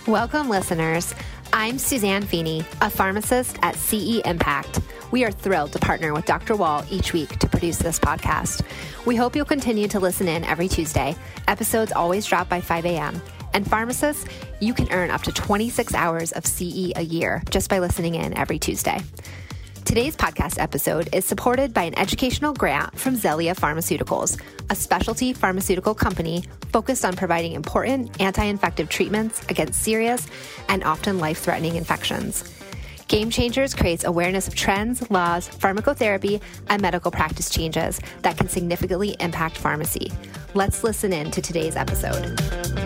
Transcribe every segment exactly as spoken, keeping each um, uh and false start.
Welcome, listeners. I'm Suzanne Feeney, a pharmacist at C E Impact. We are thrilled to partner with Doctor Wall each week to produce this podcast. We hope you'll continue to listen in every Tuesday. Episodes always drop by five a.m. And pharmacists, you can earn up to twenty-six hours of C E a year just by listening in every Tuesday. Today's podcast episode is supported by an educational grant from Xellia Pharmaceuticals, a specialty pharmaceutical company focused on providing important anti-infective treatments against serious and often life-threatening infections. Game Changers creates awareness of trends, laws, pharmacotherapy, and medical practice changes that can significantly impact pharmacy. Let's listen in to today's episode.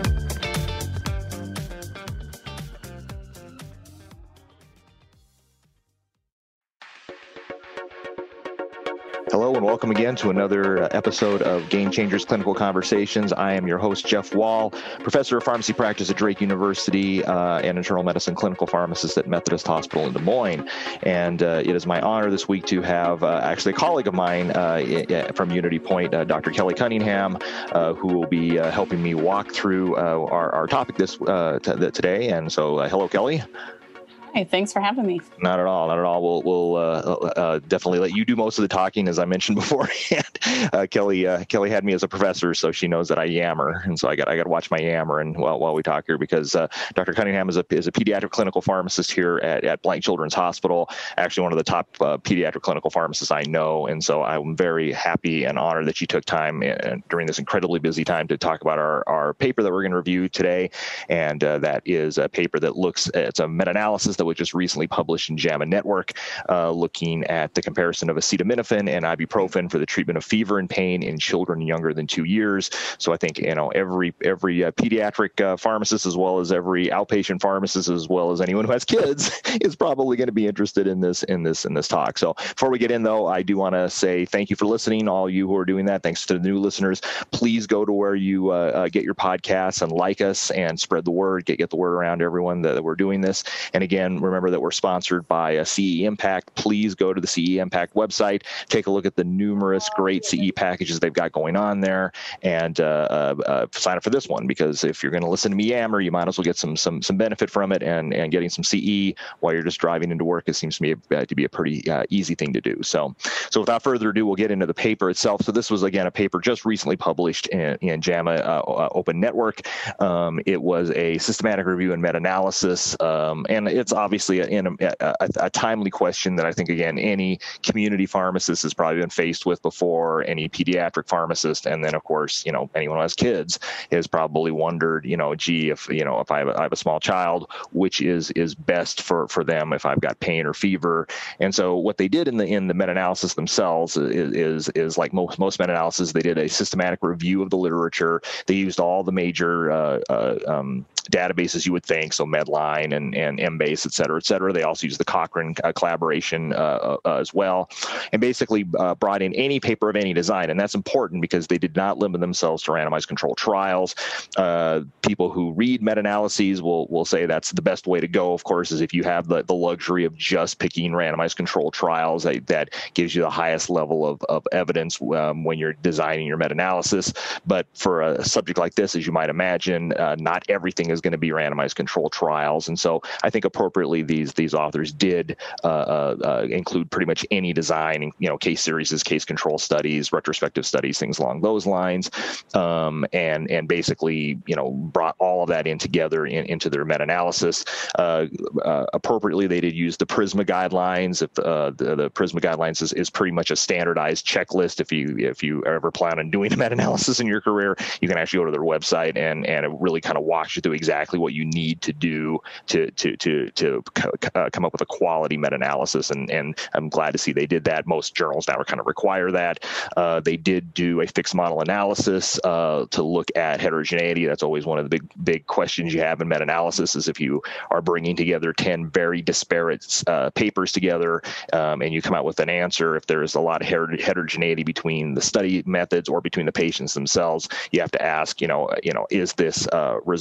Hello and welcome again to another episode of Game Changers Clinical Conversations. I am your host, Jeff Wall, professor of pharmacy practice at Drake University uh, and internal medicine clinical pharmacist at Methodist Hospital in Des Moines. And uh, it is my honor this week to have uh, actually a colleague of mine uh, from Unity Point, uh, Doctor Kelly Cunningham, uh, who will be uh, helping me walk through uh, our, our topic this uh, t- today. And so, uh, hello, Kelly. Hi, thanks for having me. Not at all, not at all. We'll, we'll uh, uh, definitely let you do most of the talking, as I mentioned beforehand. uh, Kelly, uh, Kelly had me as a professor, so she knows that I yammer, and so I got, I got to watch my yammer and while while we talk here, because uh, Doctor Cunningham is a is a pediatric clinical pharmacist here at, at Blank Children's Hospital. Actually, one of the top uh, pediatric clinical pharmacists I know, and so I'm very happy and honored that she took time in, during this incredibly busy time to talk about our our paper that we're going to review today, and uh, that is a paper that looks it's a meta-analysis that was just recently published in JAMA Network, uh, looking at the comparison of acetaminophen and ibuprofen for the treatment of fever and pain in children younger than two years. So I think, you know, every every uh, pediatric uh, pharmacist, as well as every outpatient pharmacist, as well as anyone who has kids, is probably going to be interested in this in this in this talk. So before we get in, though, I do want to say thank you for listening, all you who are doing that. Thanks to the new listeners. Please go to where you uh, uh, get your podcasts and like us and spread the word. Get get the word around to everyone that, that we're doing this. And again, remember that we're sponsored by uh, C E Impact. Please go to the C E Impact website, take a look at the numerous great C E packages they've got going on there, and uh, uh, uh, sign up for this one, because if you're going to listen to me yammer, you might as well get some some some benefit from it, and and getting some C E while you're just driving into work, it seems to me uh, to be a pretty uh, easy thing to do. So, so without further ado, we'll get into the paper itself. So this was, again, a paper just recently published in, in JAMA uh, Open Network. Um, it was a systematic review and meta-analysis, um, and it's obviously a, in a, a, a timely question that I think, again, any community pharmacist has probably been faced with before, any pediatric pharmacist, and then, of course, you know, anyone who has kids has probably wondered, you know, gee, if, you know, if I have a, I have a small child, which is is best for, for them if I've got pain or fever. And so what they did in the in the meta-analysis themselves is, is, is like most, most meta-analysis, they did a systematic review of the literature. They used all the major uh, uh, um, databases you would think, so Medline and, and Embase, et cetera, et cetera. They also used the Cochrane uh, collaboration uh, uh, as well, and basically uh, brought in any paper of any design. And that's important because they did not limit themselves to randomized controlled trials. Uh, people who read meta-analyses will will say that's the best way to go, of course, is if you have the, the luxury of just picking randomized controlled trials. That, that gives you the highest level of, of evidence um, when you're designing your meta-analysis. But for a subject like this, as you might imagine, uh, not everything is going to be randomized controlled trials. And so I think appropriately these these authors did uh, uh, uh, include pretty much any design, you know, case series, case control studies, retrospective studies, things along those lines, um, and and basically, you know, brought all of that in together in, into their meta-analysis. Uh, uh, appropriately, they did use the PRISMA guidelines. If uh, the, the PRISMA guidelines is, is pretty much a standardized checklist. If you if you ever plan on doing a meta-analysis in your career, you can actually go to their website, and and it really kind of walks you through exactly what you need to do to to to to uh, come up with a quality meta-analysis. And and I'm glad to see they did that. Most journals now are kind of require that. Uh, they did do a fixed model analysis uh, to look at heterogeneity. That's always one of the big big questions you have in meta-analysis, is if you are bringing together ten very disparate uh, papers together, um, and you come out with an answer, if there is a lot of heter- heterogeneity between the study methods or between the patients themselves, you have to ask, you know, you know, is this uh, result as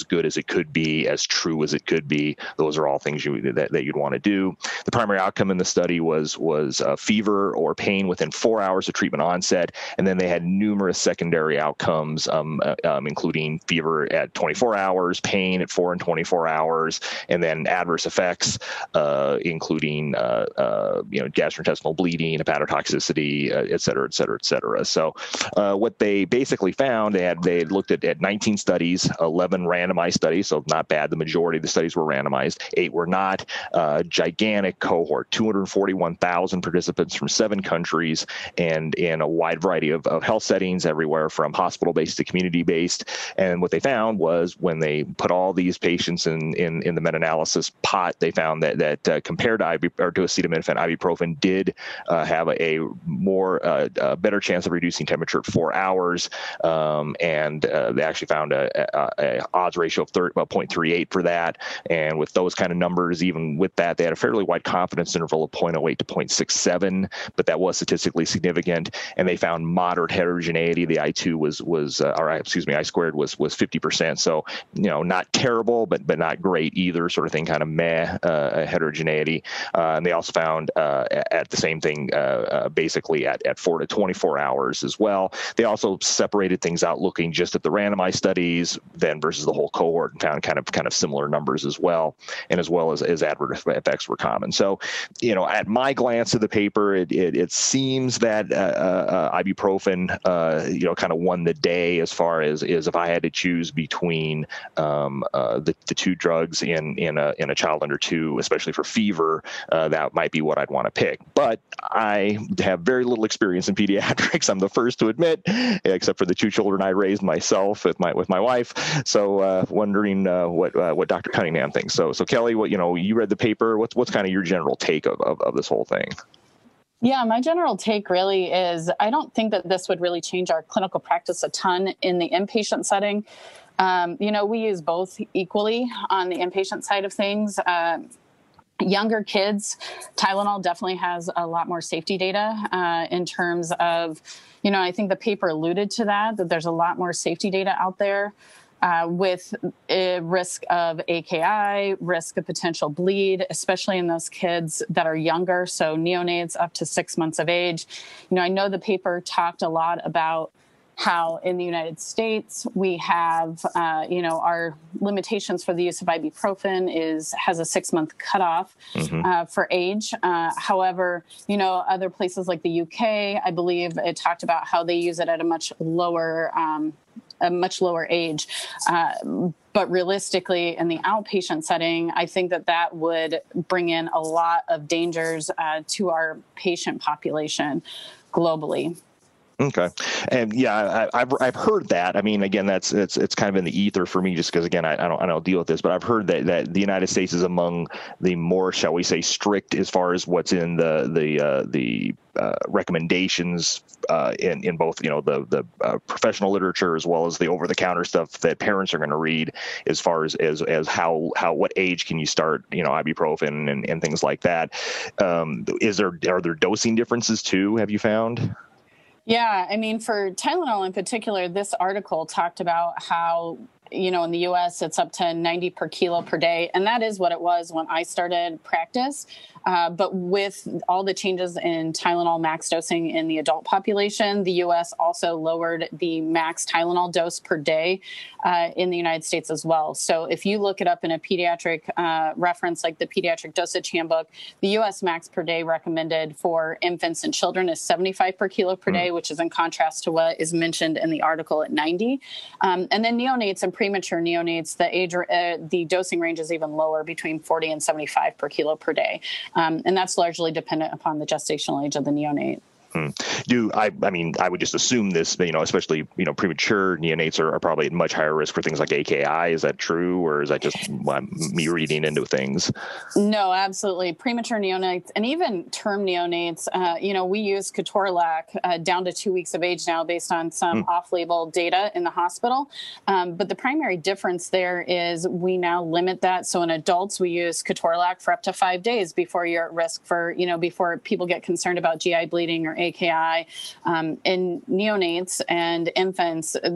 good as it could be, as true as it could be. Those are all things you, that, that you'd want to do. The primary outcome in the study was was uh, fever or pain within four hours of treatment onset, and then they had numerous secondary outcomes, um, uh, um, including fever at twenty-four hours, pain at four and twenty-four hours, and then adverse effects, uh, including uh, uh, you know gastrointestinal bleeding, hepatotoxicity, uh, et cetera, et cetera, et cetera. So, uh, what they basically found, they had they looked at, at nineteen studies, eleven randomized studies, so not bad. The majority of the studies were randomized. Eight were not. Uh, gigantic cohort, two hundred forty-one thousand participants from seven countries, and in a wide variety of, of health settings, everywhere from hospital-based to community-based. And what they found was when they put all these patients in in, in the meta-analysis pot, they found that that uh, compared to Ibu, or to acetaminophen, ibuprofen did uh, have a, a more uh, a better chance of reducing temperature at four hours, um, and uh, they actually found a, a, a odds ratio of thirty, about zero point three eight for that. And with those kind of numbers, even with that, they had a fairly wide confidence interval of zero point zero eight to zero point six seven, but that was statistically significant. And they found moderate heterogeneity. The I two was was uh, or excuse me, I squared was was fifty percent. So you know, not terrible, but but not great either. Sort of thing, kind of meh uh, heterogeneity. Uh, and they also found uh, at the same thing, uh, uh, basically at at four to twenty-four hours as well. They also separated things out, looking just at the randomized studies, then versus the whole cohort, and found kind of kind of similar numbers as well, and as well as as adverse effects were common. So, you know, at my glance of the paper, it it, it seems that uh, uh, ibuprofen, uh, you know, kind of won the day as far as is if I had to choose between um, uh, the the two drugs in in a in a child under two, especially for fever, uh, that might be what I'd want to pick. But I have very little experience in pediatrics. I'm the first to admit, except for the two children I raised myself with my with my wife. So, uh, wondering uh, what uh, what Doctor Cunningham thinks. So, so Kelly, what you know, you read the paper. What's what's kind of your general take of, of, of this whole thing? Yeah, my general take really is I don't think that this would really change our clinical practice a ton in the inpatient setting. Um, you know, we use both equally on the inpatient side of things. Uh, Younger kids, Tylenol definitely has a lot more safety data uh, in terms of, you know, I think the paper alluded to that, that there's a lot more safety data out there uh, with a risk of A K I, risk of potential bleed, especially in those kids that are younger. So neonates up to six months of age. You know, I know the paper talked a lot about how in the United States we have, uh, you know, our limitations for the use of ibuprofen is has a six-month cutoff mm-hmm. uh, for age. Uh, however, you know, other places like the U K, I believe it talked about how they use it at a much lower, um, a much lower age. Uh, but realistically, in the outpatient setting, I think that that would bring in a lot of dangers uh, to our patient population globally. Okay, and yeah, I, I've I've heard that. I mean, again, that's it's it's kind of in the ether for me, just because again, I, I don't I don't deal with this, but I've heard that, that the United States is among the more, shall we say, strict as far as what's in the the uh, the uh, recommendations uh, in in both you know the the uh, professional literature as well as the over the counter stuff that parents are going to read, as far as as as how how what age can you start you know ibuprofen and, and things like that. Um, is there are there dosing differences too? Have you found? Yeah, I mean, for Tylenol in particular, this article talked about how, you know, in the U S it's up to ninety per kilo per day. And that is what it was when I started practice. Uh, but with all the changes in Tylenol max dosing in the adult population, the U S also lowered the max Tylenol dose per day uh, in the United States as well. So if you look it up in a pediatric uh, reference like the Pediatric Dosage Handbook, the U S max per day recommended for infants and children is seventy-five per kilo per day, which is in contrast to what is mentioned in the article at ninety. Um, and then neonates and premature neonates, the age, uh, the dosing range is even lower, between forty and seventy-five per kilo per day. Um, and that's largely dependent upon the gestational age of the neonate. Hmm. Do I? I mean, I would just assume this. You know, especially you know, premature neonates are, are probably at much higher risk for things like A K I. Is that true, or is that just me reading into things? No, absolutely. Premature neonates and even term neonates. Uh, you know, we use ketorolac uh, down to two weeks of age now, based on some hmm. off-label data in the hospital. Um, but the primary difference there is we now limit that. So in adults, we use ketorolac for up to five days before you're at risk for, you know, before people get concerned about G I bleeding or A K I. Um, in neonates and infants,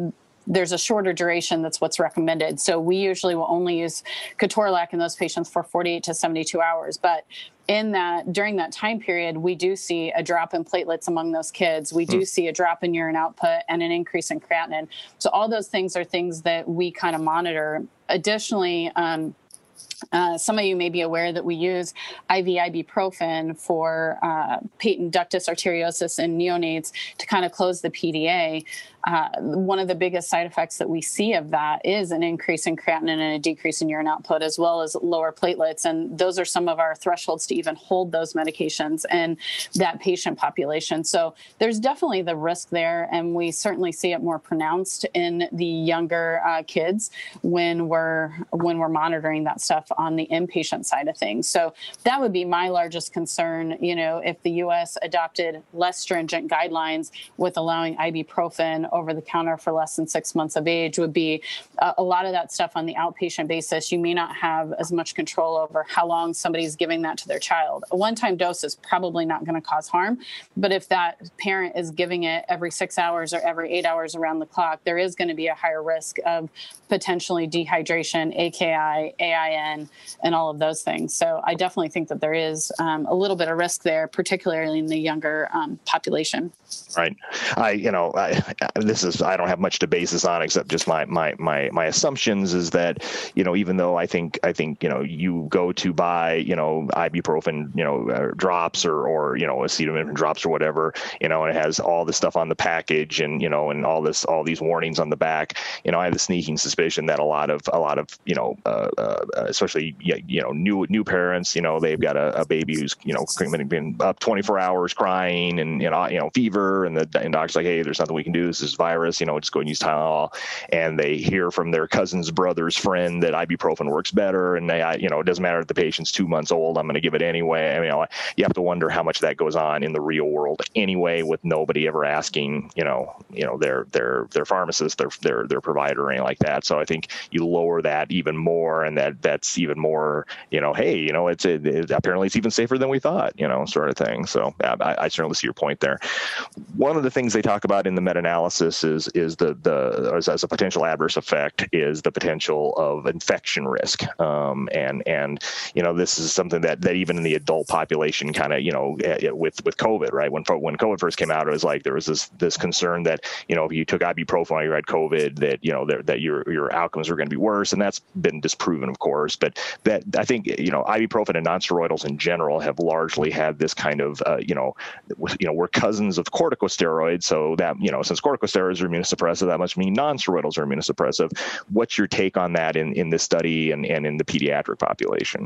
there's a shorter duration that's what's recommended. So we usually will only use ketorolac in those patients for forty-eight to seventy-two hours. But in that, during that time period, we do see a drop in platelets among those kids. We do hmm. see a drop in urine output and an increase in creatinine. So all those things are things that we kind of monitor. Additionally, um, Uh, some of you may be aware that we use I V ibuprofen for uh, patent ductus arteriosus in neonates to kind of close the P D A. Uh, one of the biggest side effects that we see of that is an increase in creatinine and a decrease in urine output, as well as lower platelets. And those are some of our thresholds to even hold those medications in that patient population. So there's definitely the risk there, and we certainly see it more pronounced in the younger uh, kids when we're when we're monitoring that stuff on the inpatient side of things. So that would be my largest concern. You know, if the U S adopted less stringent guidelines with allowing ibuprofen over the counter for less than six months of age, would be uh, a lot of that stuff on the outpatient basis. You may not have as much control over how long somebody's giving that to their child. A one-time dose is probably not going to cause harm, but if that parent is giving it every six hours or every eight hours around the clock, there is going to be a higher risk of potentially dehydration, A K I, A I N, and all of those things. So I definitely think that there is um, a little bit of risk there, particularly in the younger um, population. Right. I, you know, I, this is, I don't have much to base this on except just my, my, my, my assumptions is that, you know, even though I think, I think, you know, you go to buy, you know, ibuprofen, you know, uh, drops or, or, you know, acetaminophen drops or whatever, you know, and it has all this stuff on the package and, you know, and all this, all these warnings on the back, you know, I have the sneaking suspicion that a lot of, a lot of, you know, uh, uh, especially, you know, new, new parents, you know, they've got a, a baby who's, you know, been up twenty-four hours crying and, you know, you know, fever, and the and doctor's like, hey, there's nothing we can do. This is virus, you know, just go and use Tylenol. And they hear from their cousin's brother's friend that ibuprofen works better. And they, you know, it doesn't matter if the patient's two months old, I'm going to give it anyway. I mean, you know, you have to wonder how much that goes on in the real world anyway, with nobody ever asking, you know, you know, their, their, their pharmacist, their, their, their provider or anything like that. So I think you lower that even more, and that that's even more, you know, hey, you know, it's, it, it, apparently it's even safer than we thought, you know, sort of thing. So I, I certainly see your point there. One of the things they talk about in the meta-analysis is is the the as, as a potential adverse effect is the potential of infection risk, um, and and you know, this is something that that even in the adult population kind of, you know, with with COVID, right, when when COVID first came out, it was like there was this this concern that, you know, if you took ibuprofen while you had COVID, that, you know, that, that your your outcomes were going to be worse, and that's been disproven, of course. But that, I think, you know, ibuprofen and nonsteroidals in general have largely had this kind of uh, you know, you know, we're cousins of corticosteroids, so that, you know, since corticosteroids are immunosuppressive, that must mean nonsteroidals are immunosuppressive. What's your take on that in, in this study and, and in the pediatric population?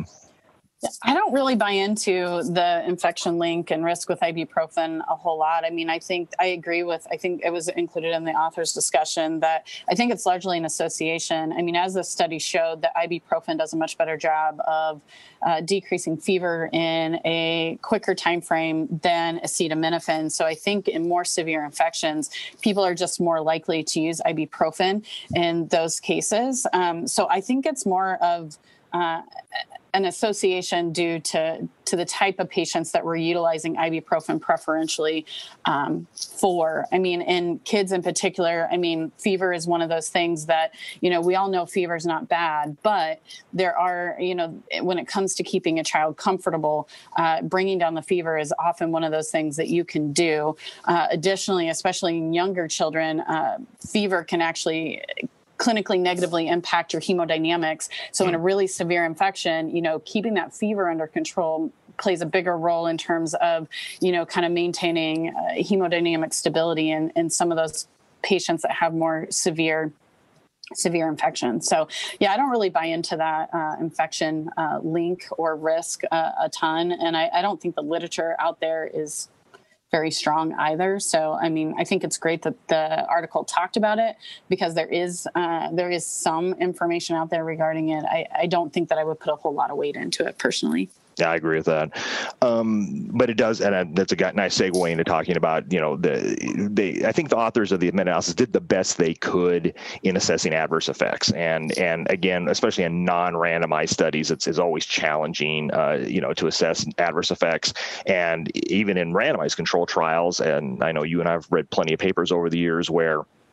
I don't really buy into the infection link and risk with ibuprofen a whole lot. I mean, I think I agree with, I think it was included in the author's discussion that I think it's largely an association. I mean, as the study showed, that ibuprofen does a much better job of uh, decreasing fever in a quicker time frame than acetaminophen. So I think in more severe infections, people are just more likely to use ibuprofen in those cases. Um, so I think it's more of uh, an association due to, to the type of patients that we're utilizing ibuprofen preferentially um, for. I mean, in kids in particular, I mean, fever is one of those things that, you know, we all know fever is not bad, but there are, you know, when it comes to keeping a child comfortable, uh, bringing down the fever is often one of those things that you can do. Uh, additionally, especially in younger children, uh, fever can actually clinically negatively impact your hemodynamics. So in a really severe infection, you know, keeping that fever under control plays a bigger role in terms of, you know, kind of maintaining uh, hemodynamic stability in, in some of those patients that have more severe severe infection. So yeah, I don't really buy into that uh, infection uh, link or risk uh, a ton. And I, I don't think the literature out there is very strong either. So, I mean, I think it's great that the article talked about it because there is uh, there is some information out there regarding it. I, I don't think that I would put a whole lot of weight into it personally. Yeah, I agree with that. Um, but it does, and that's a nice segue into talking about, you know, the they. I think the authors of the meta-analysis did the best they could in assessing adverse effects, and and again, especially in non-randomized studies, it's, it's always challenging, uh, you know, to assess adverse effects, and even in randomized control trials. And I know you and I've read plenty of papers over the years where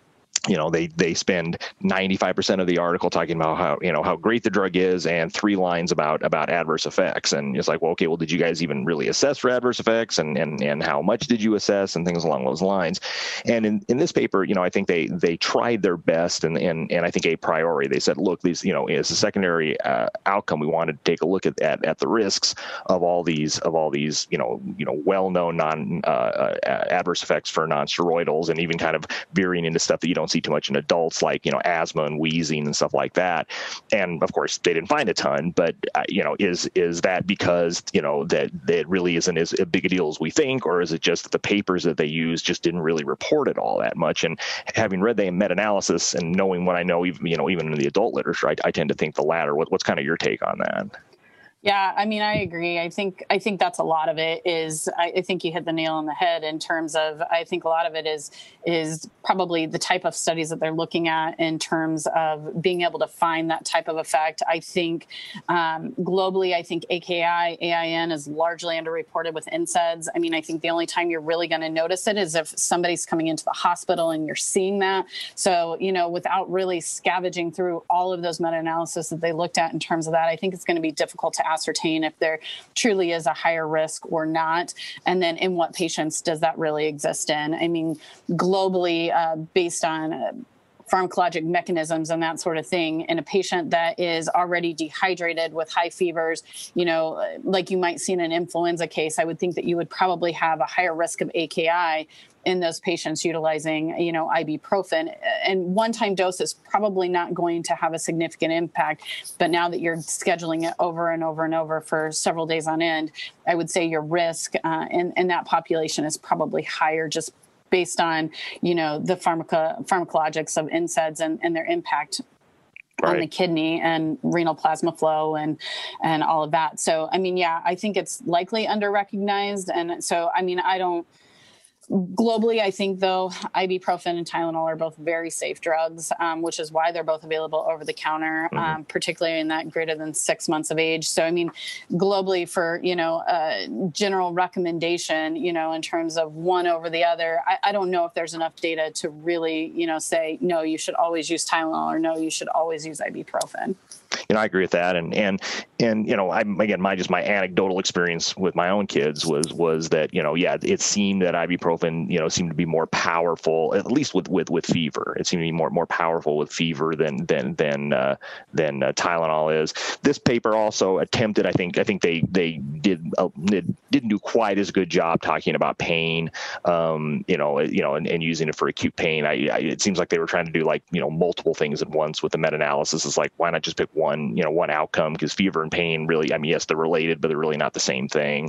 you know, they they spend ninety-five percent of the article talking about how, you know, how great the drug is, and three lines about about adverse effects. And it's like, well, okay, well, did you guys even really assess for adverse effects, and and and how much did you assess, and things along those lines. And in, in this paper, you know, I think they they tried their best, and and and I think a priori they said, look, these, you know, as a secondary uh, outcome, we wanted to take a look at, at at the risks of all these of all these you know you know well-known non uh, uh, adverse effects for non-steroidals, and even kind of veering into stuff that you don't see too much in adults, like, you know, asthma and wheezing and stuff like that. And of course, they didn't find a ton, but uh, you know, is is that because, you know, that, that it really isn't as big a deal as we think, or is it just that the papers that they use just didn't really report it all that much? And having read the meta-analysis and knowing what I know, even you know, even in the adult literature, I, I tend to think the latter. What, what's kind of your take on that? Yeah, I mean, I agree. I think I think that's a lot of it is, I, I think you hit the nail on the head in terms of, I think a lot of it is is probably the type of studies that they're looking at in terms of being able to find that type of effect. I think um, globally, I think A K I, A I N is largely underreported with N SAIDs. I mean, I think the only time you're really going to notice it is if somebody's coming into the hospital and you're seeing that. So, you know, without really scavenging through all of those meta-analysis that they looked at in terms of that, I think it's going to be difficult to ascertain if there truly is a higher risk or not. And then in what patients does that really exist in? I mean, globally, uh, based on uh, pharmacologic mechanisms and that sort of thing, in a patient that is already dehydrated with high fevers, you know, like you might see in an influenza case, I would think that you would probably have a higher risk of A K I in those patients utilizing, you know, ibuprofen. And one-time dose is probably not going to have a significant impact. But now that you're scheduling it over and over and over for several days on end, I would say your risk uh, in, in that population is probably higher, just based on, you know, the pharmaco- pharmacologics of N SAIDs and, and their impact Right. on the kidney and renal plasma flow and and all of that. So, I mean, yeah, I think it's likely under-recognized. And so, I mean, I don't, globally, I think, though, ibuprofen and Tylenol are both very safe drugs, um, which is why they're both available over the counter, mm-hmm. um, particularly in that greater than six months of age. So, I mean, globally, for, you know, uh, general recommendation, you know, in terms of one over the other, I, I don't know if there's enough data to really, you know, say, no, you should always use Tylenol, or no, you should always use ibuprofen. You know, I agree with that. And, and, and, you know, I'm, again, my, just my anecdotal experience with my own kids was, was that, you know, yeah, it seemed that ibuprofen, you know, seemed to be more powerful, at least with, with, with fever. It seemed to be more, more powerful with fever than, than, than, uh, than uh, Tylenol is. This paper also attempted, I think, I think they, they did, uh, did, didn't do quite as good job talking about pain, um, you know, you know, and, and using it for acute pain. I, I, it seems like they were trying to do like, you know, multiple things at once with the meta-analysis. It's like, why not just pick one? One, you know, one outcome, because fever and pain really, I mean, yes, they're related, but they're really not the same thing.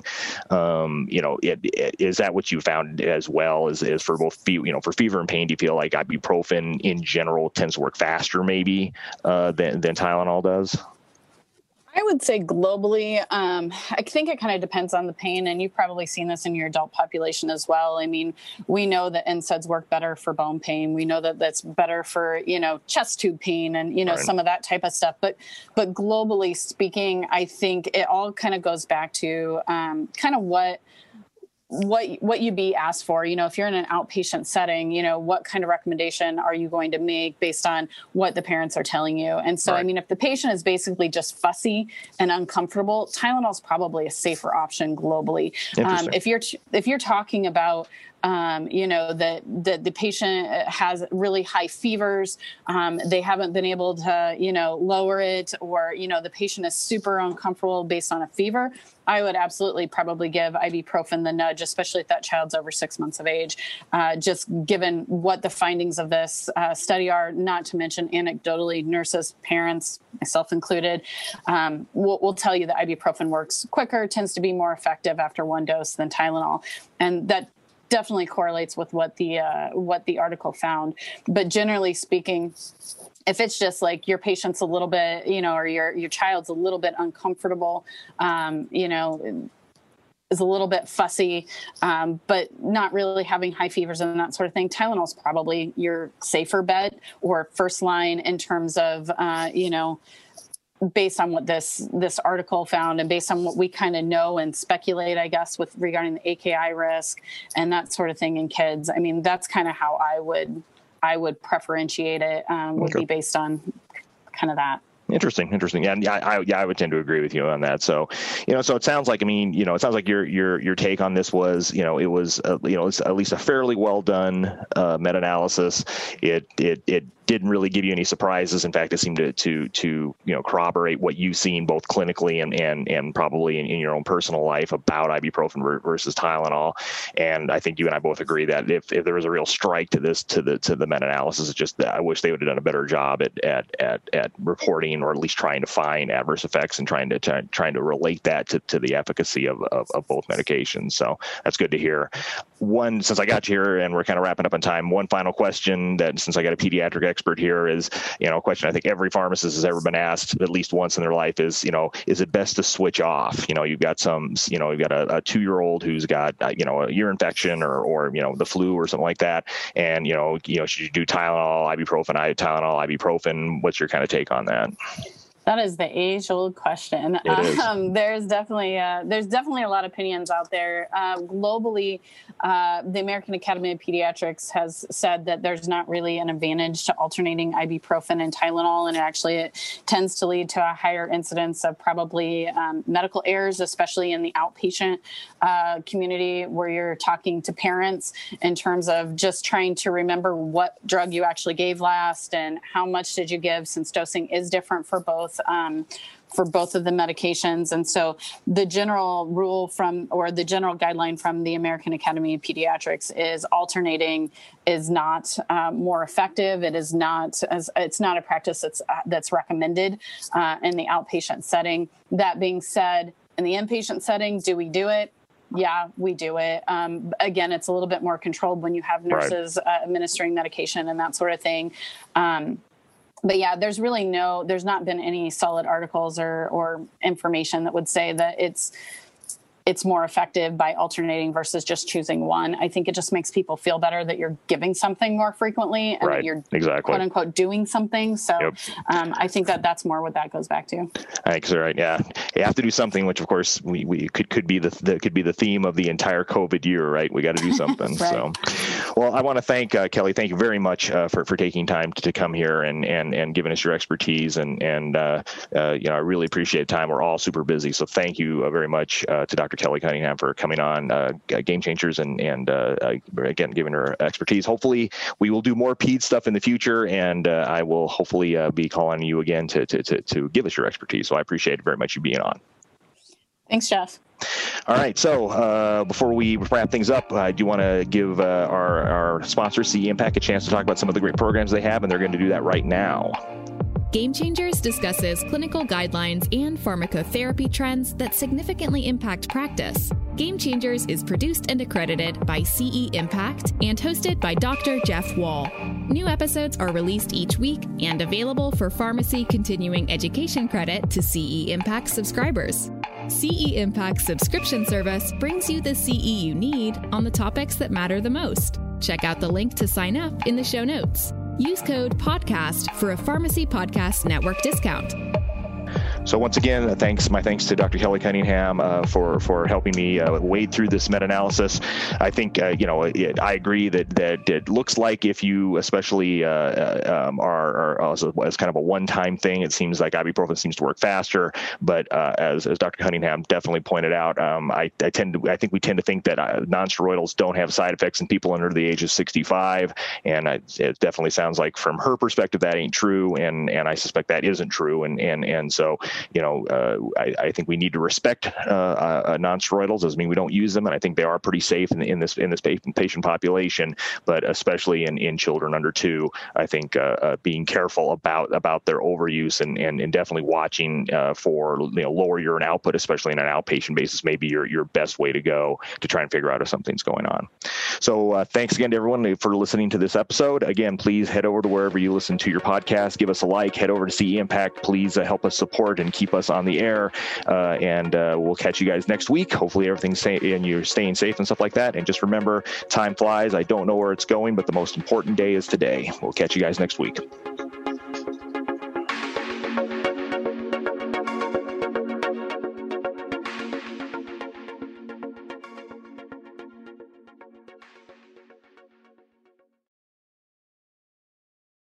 Um, you know, it, it, is that what you found as well as, as for both, fe- you know, for fever and pain? Do you feel like ibuprofen in general tends to work faster maybe uh, than, than Tylenol does? I would say globally, um, I think it kind of depends on the pain, and you've probably seen this in your adult population as well. I mean, we know that N SAIDs work better for bone pain. We know that that's better for, you know, chest tube pain and, you know, right. some of that type of stuff. But but globally speaking, I think it all kind of goes back to um, kind of what what what you'd be asked for. You know, if you're in an outpatient setting, you know, what kind of recommendation are you going to make based on what the parents are telling you? And so, right. I mean, if the patient is basically just fussy and uncomfortable, Tylenol is probably a safer option globally. Um, if you're if you're talking about Um, you know, that the, the patient has really high fevers, um, they haven't been able to, you know, lower it, or, you know, the patient is super uncomfortable based on a fever, I would absolutely probably give ibuprofen the nudge, especially if that child's over six months of age, uh, just given what the findings of this uh, study are, not to mention anecdotally, nurses, parents, myself included, um, will will tell you that ibuprofen works quicker, tends to be more effective after one dose than Tylenol. And that definitely correlates with what the uh, what the article found. But generally speaking, if it's just like your patient's a little bit, you know, or your your child's a little bit uncomfortable, um, you know, is a little bit fussy, um, but not really having high fevers and that sort of thing, Tylenol is probably your safer bet or first line in terms of, uh, you know, based on what this this article found and based on what we kind of know and speculate, I guess, with regarding the A K I risk and that sort of thing in kids. I mean, that's kind of how I would I would preferentiate it um, would okay. be based on kind of that. Interesting, interesting. Yeah, yeah, I, yeah, I would tend to agree with you on that. So, you know, so it sounds like, I mean, you know, it sounds like your your your take on this was, you know, it was, uh, you know, it's at least a fairly well done uh, meta-analysis. It it it didn't really give you any surprises. In fact, it seemed to to to you know corroborate what you've seen both clinically and and and probably in, in your own personal life about ibuprofen versus Tylenol. And I think you and I both agree that if, if there was a real strike to this to the to the meta-analysis, it's just that I wish they would have done a better job at at at, at reporting, or at least trying to find adverse effects and trying to try, trying to relate that to, to the efficacy of, of of both medications. So that's good to hear. One, since I got you here and we're kind of wrapping up on time, one final question that since I got a pediatric expert here is, you know, a question I think every pharmacist has ever been asked at least once in their life is, you know, is it best to switch off? You know, you've got some, you know, you've got a, a two-year-old who's got, uh, you know, a ear infection or, or, you know, the flu or something like that. And, you know, you know, should you do Tylenol, ibuprofen, Tylenol, ibuprofen? What's your kind of take on that? That is the age-old question. Um, there's definitely uh, there's definitely a lot of opinions out there. Uh, globally, uh, the American Academy of Pediatrics has said that there's not really an advantage to alternating ibuprofen and Tylenol, and it actually it tends to lead to a higher incidence of probably um, medical errors, especially in the outpatient uh, community where you're talking to parents in terms of just trying to remember what drug you actually gave last and how much did you give, since dosing is different for both. Um, for both of the medications. And so the general rule from, or the general guideline from the American Academy of Pediatrics is alternating is not uh, more effective. It is not, as it's not a practice that's, uh, that's recommended uh, in the outpatient setting. That being said, in the inpatient setting, do we do it? Yeah, we do it. Um, again, it's a little bit more controlled when you have nurses right. uh, administering medication and that sort of thing. Um, But yeah, there's really no, there's not been any solid articles or, or information that would say that it's it's more effective by alternating versus just choosing one. I think it just makes people feel better that you're giving something more frequently and right. that you're exactly. quote unquote doing something. So yep. um, I think that that's more what that goes back to. I think so, right. Yeah. You have to do something, which of course we, we could, could be the, the, could be the theme of the entire COVID year, right? We got to do something. right. So, well, I want to thank uh, Kelly. Thank you very much uh, for, for taking time to, to come here and, and, and giving us your expertise. And, and uh, uh, you know, I really appreciate the time. We're all super busy. So thank you uh, very much uh, to Doctor Kelly Cunningham for coming on uh, Game Changers and, and uh, again, giving her expertise. Hopefully we will do more ped stuff in the future, and uh, I will hopefully uh, be calling you again to, to, to, to give us your expertise. So I appreciate very much you being on. Thanks, Jeff. All right. So uh, before we wrap things up, I do want to give uh, our, our sponsor, C E Impact, a chance to talk about some of the great programs they have, and they're going to do that right now. Game Changers discusses clinical guidelines and pharmacotherapy trends that significantly impact practice. Game Changers is produced and accredited by C E Impact and hosted by Doctor Jeff Wall. New episodes are released each week and available for pharmacy continuing education credit to C E Impact subscribers. C E Impact's subscription service brings you the C E you need on the topics that matter the most. Check out the link to sign up in the show notes. Use code PODCAST for a Pharmacy Podcast Network discount. So once again, thanks. My thanks to Doctor Kelly Cunningham uh, for for helping me uh, wade through this meta-analysis. I think uh, you know it, I agree that that it looks like if you especially uh, um, are, are as, a, as kind of a one-time thing, it seems like ibuprofen seems to work faster. But uh, as as Doctor Cunningham definitely pointed out, um, I, I tend to I think we tend to think that uh, non-steroidals don't have side effects in people under the age of sixty-five, and I, it definitely sounds like from her perspective that ain't true, and and I suspect that isn't true, and and and so. You know, uh, I, I think we need to respect uh, uh, non-steroidals. Doesn't mean we don't use them, and I think they are pretty safe in, in this in this patient population. But especially in, in children under two, I think uh, uh, being careful about about their overuse and and, and definitely watching uh, for you know lower urine output, especially in an outpatient basis, may be your your best way to go to try and figure out if something's going on. So uh, thanks again to everyone for listening to this episode. Again, please head over to wherever you listen to your podcast. Give us a like. Head over to C E Impact. Please uh, help us support and keep us on the air, uh, and uh, we'll catch you guys next week. Hopefully everything's safe and you're staying safe and stuff like that. And just remember, time flies. I don't know where it's going, but the most important day is today. We'll catch you guys next week.